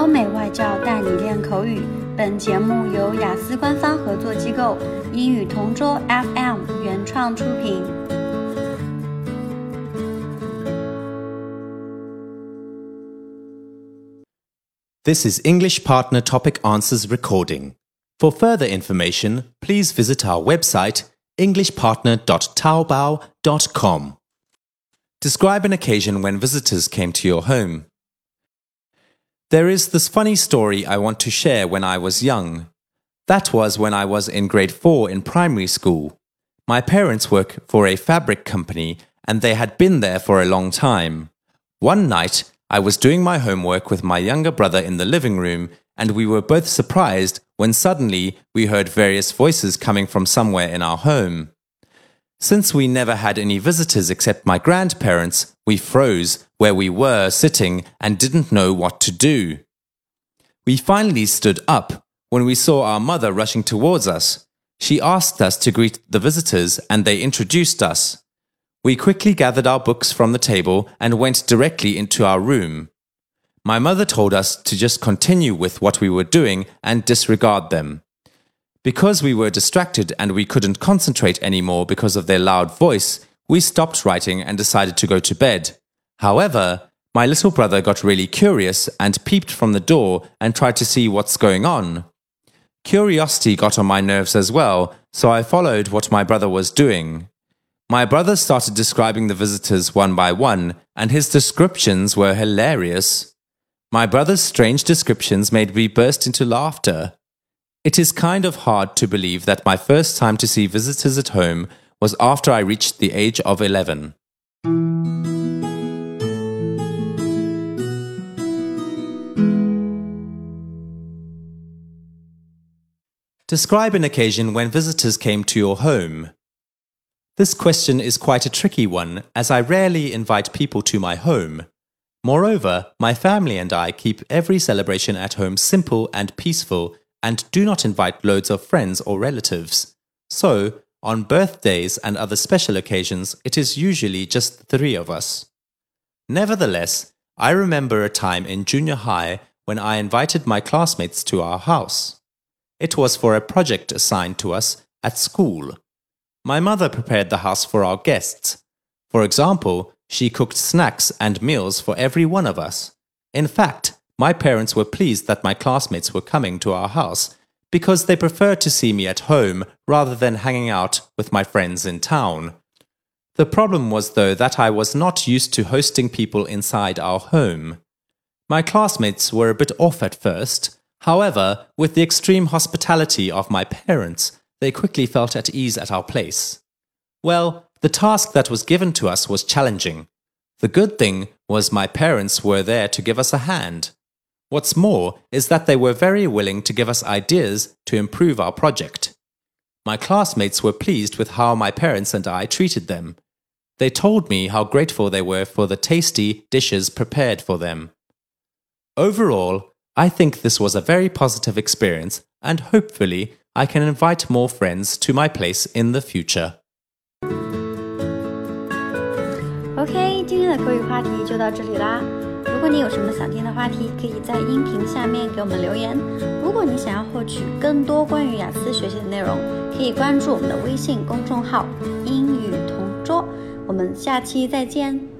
欧美外教带你练口语。本节目由雅思官方合作机构英语同桌 FM 原创出品。 This is English Partner Topic Answers recording. For further information, please visit our website englishpartner.taobao.com. Describe an occasion when visitors came to your home. There is this funny story I want to share when I was young. That was when I was in grade 4 in primary school. My parents work for a fabric company and they had been there for a long time. One night, I was doing my homework with my younger brother in the living room, and we were both surprised when suddenly we heard various voices coming from somewhere in our home. Since we never had any visitors except my grandparents, we froze where we were sitting and didn't know what to do. We finally stood up when we saw our mother rushing towards us. She asked us to greet the visitors and they introduced us. We quickly gathered our books from the table and went directly into our room. My mother told us to just continue with what we were doing and disregard them. Because we were distracted and we couldn't concentrate anymore because of their loud voice, we stopped writing and decided to go to bed. However, my little brother got really curious and peeped from the door and tried to see what's going on. Curiosity got on my nerves as well, so I followed what my brother was doing. My brother started describing the visitors one by one, and his descriptions were hilarious. My brother's strange descriptions made me burst into laughter. It is kind of hard to believe that my first time to see visitors at home was after I reached the age of 11. Describe an occasion when visitors came to your home. This question is quite a tricky one, as I rarely invite people to my home. Moreover, my family and I keep every celebration at home simple and peaceful and do not invite loads of friends or relatives. So, on birthdays and other special occasions, it is usually just the three of us. Nevertheless, I remember a time in junior high when I invited my classmates to our house. It was for a project assigned to us at school. My mother prepared the house for our guests. For example, she cooked snacks and meals for every one of us. In fact, my parents were pleased that my classmates were coming to our house because they preferred to see me at home rather than hanging out with my friends in town. The problem was, though, that I was not used to hosting people inside our home. My classmates were a bit off at first. However, with the extreme hospitality of my parents, they quickly felt at ease at our place. Well, the task that was given to us was challenging. The good thing was my parents were there to give us a hand. What's more is that they were very willing to give us ideas to improve our project. My classmates were pleased with how my parents and I treated them. They told me how grateful they were for the tasty dishes prepared for them. Overall, I think this was a very positive experience, and hopefully I can invite more friends to my place in the future. OK， 今天的口语话题就到这里啦。如果你有什么想听的话题，可以在音频下面给我们留言。如果你想要获取更多关于雅思学习的内容，可以关注我们的微信公众号“英语同桌”。我们下期再见。